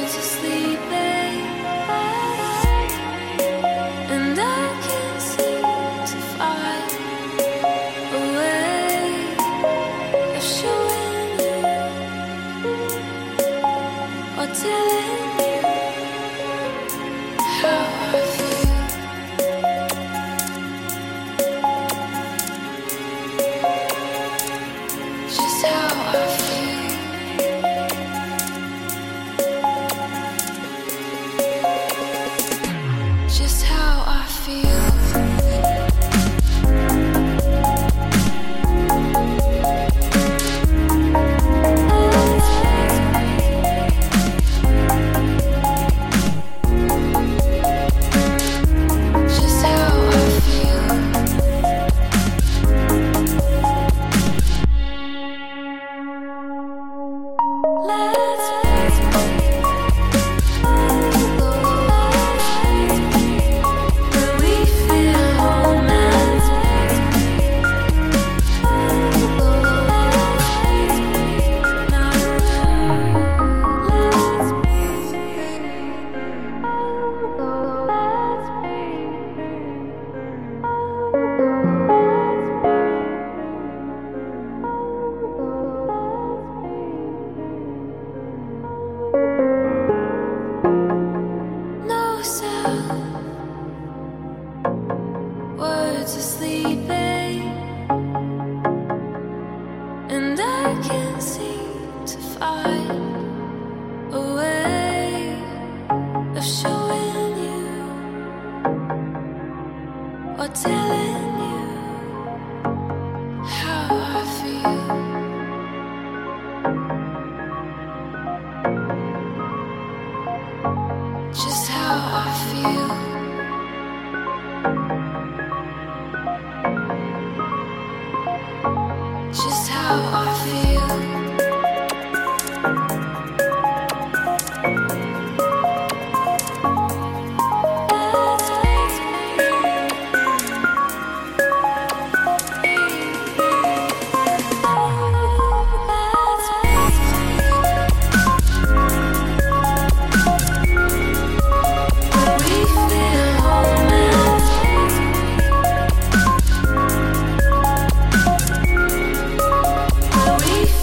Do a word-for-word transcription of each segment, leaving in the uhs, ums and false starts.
We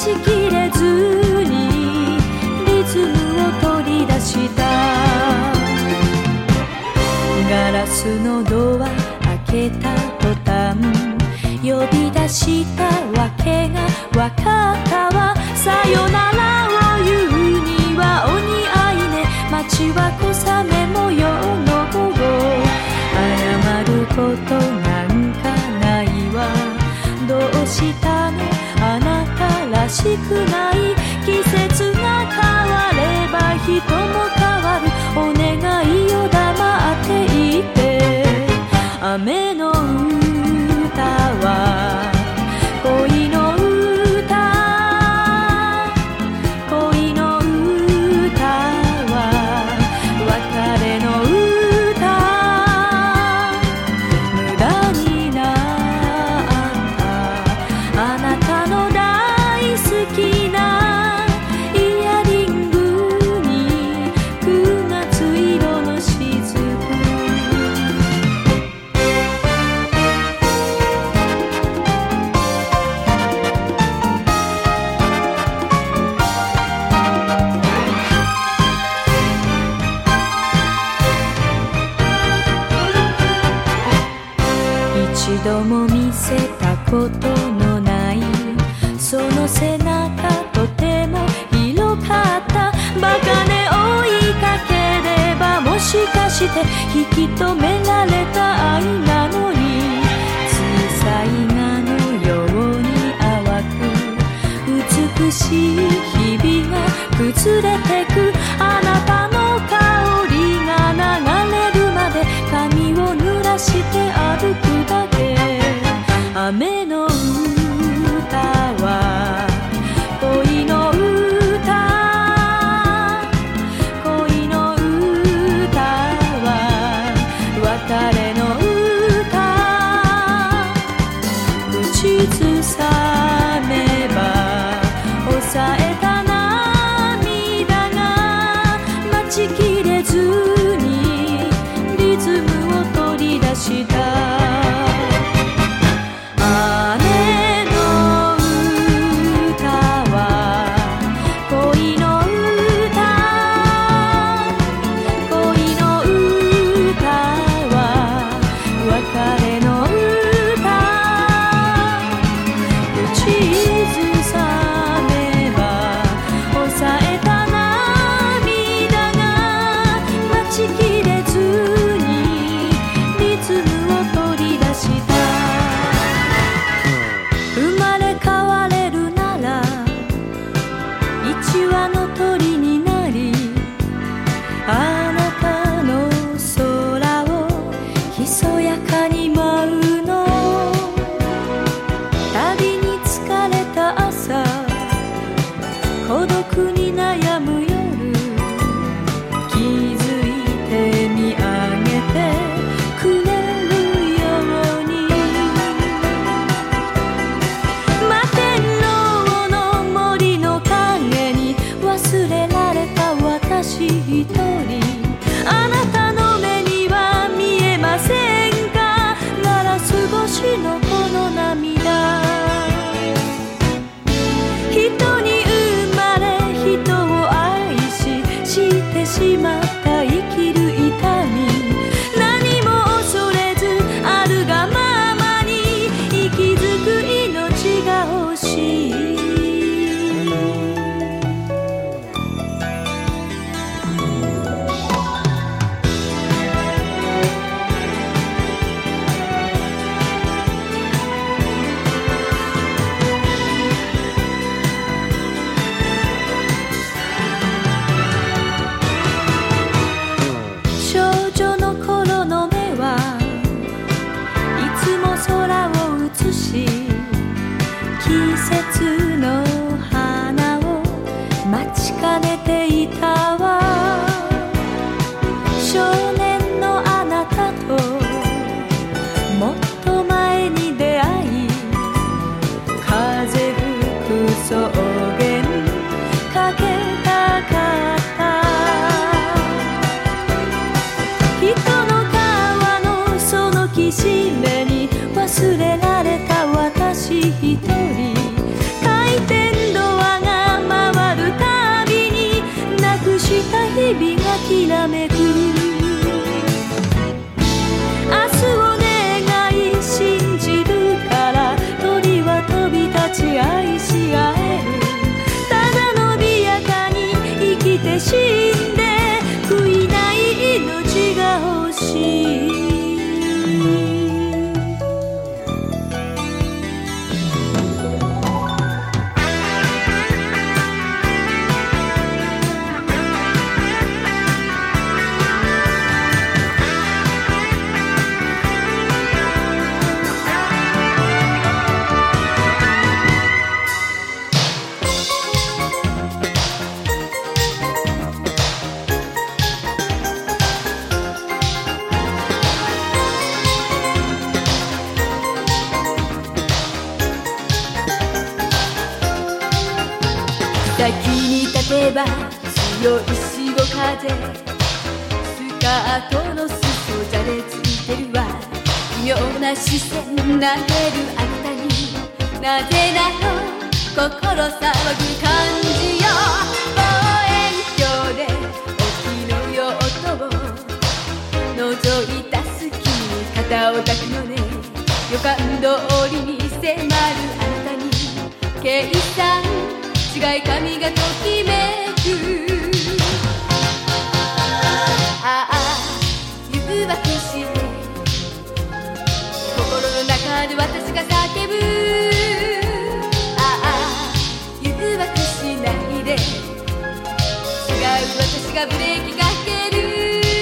ちきれずにリズムを取り出した。ガラスのドア開けた途端呼び出したわけがわかったわ。さよならを言うにはお似合いね。街は小雨模様の午後。謝ることなんかないわ。どうしたのあなたらしくない。季節が変われば人も変わる。お願いよ黙っていて。雨の歌は恋の歌、恋の歌は別れの歌。無駄になったあなたの大好きなイヤリングにくがつ色の雫。一度も見せたことのないその背中とても広かった。バカね追いかければもしかして引き止められた愛なのに。水彩画のように淡く美しい日々が崩れてく。あなたの香りが流れるまで髪を濡らして歩くだけ。雨の歌は恋の歌、恋の歌は別れの歌。口ずさめば抑えた涙が待ちきれずにリズムを取り出した。孤独に悩む夜気づいて見上げてくれるように。摩天楼の森の影に忘れられた私一人。あなたの目には見えませんか。ガラス越しのこの涙。人に人を愛先に立てば強い潮風、スカートの裾じゃれついてるわ。奇妙な視線投げるあなたに、なぜなの心騒ぐ感じよ。望遠鏡で沖の用途を覗いた隙に肩を抱くのね。予感通りに迫るあなたに計算違い髪がときめく。ああ誘惑して心の中で私が叫ぶ。ああ誘惑しないで、違う私がブレーキかける。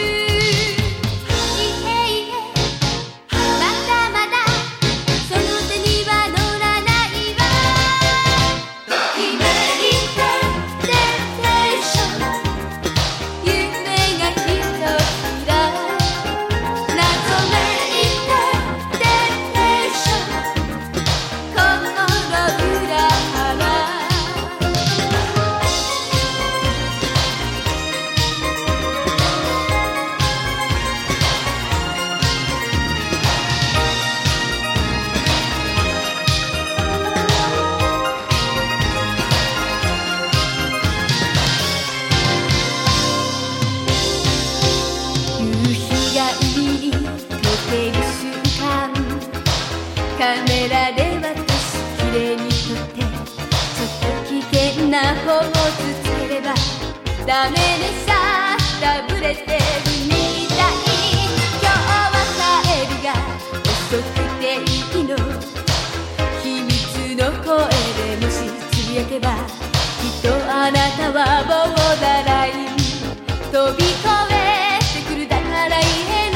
カメラで私きれいに撮って、ちょっと危険なポーズつければダメでさ、ダブれてるみたい。今日は帰りが遅くていいの、秘密の声でもしつぶやけば、きっとあなたはボーダーライン飛び越えてくるだから言えない。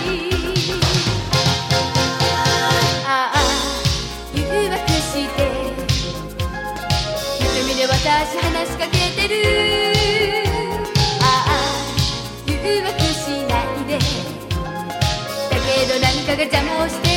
私話しかけてる。ああ誘惑しないで、だけど何かが邪魔をして